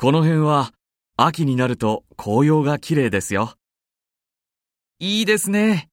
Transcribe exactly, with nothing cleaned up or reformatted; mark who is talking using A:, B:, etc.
A: この辺は秋になると紅葉が綺麗ですよ。
B: いいですね。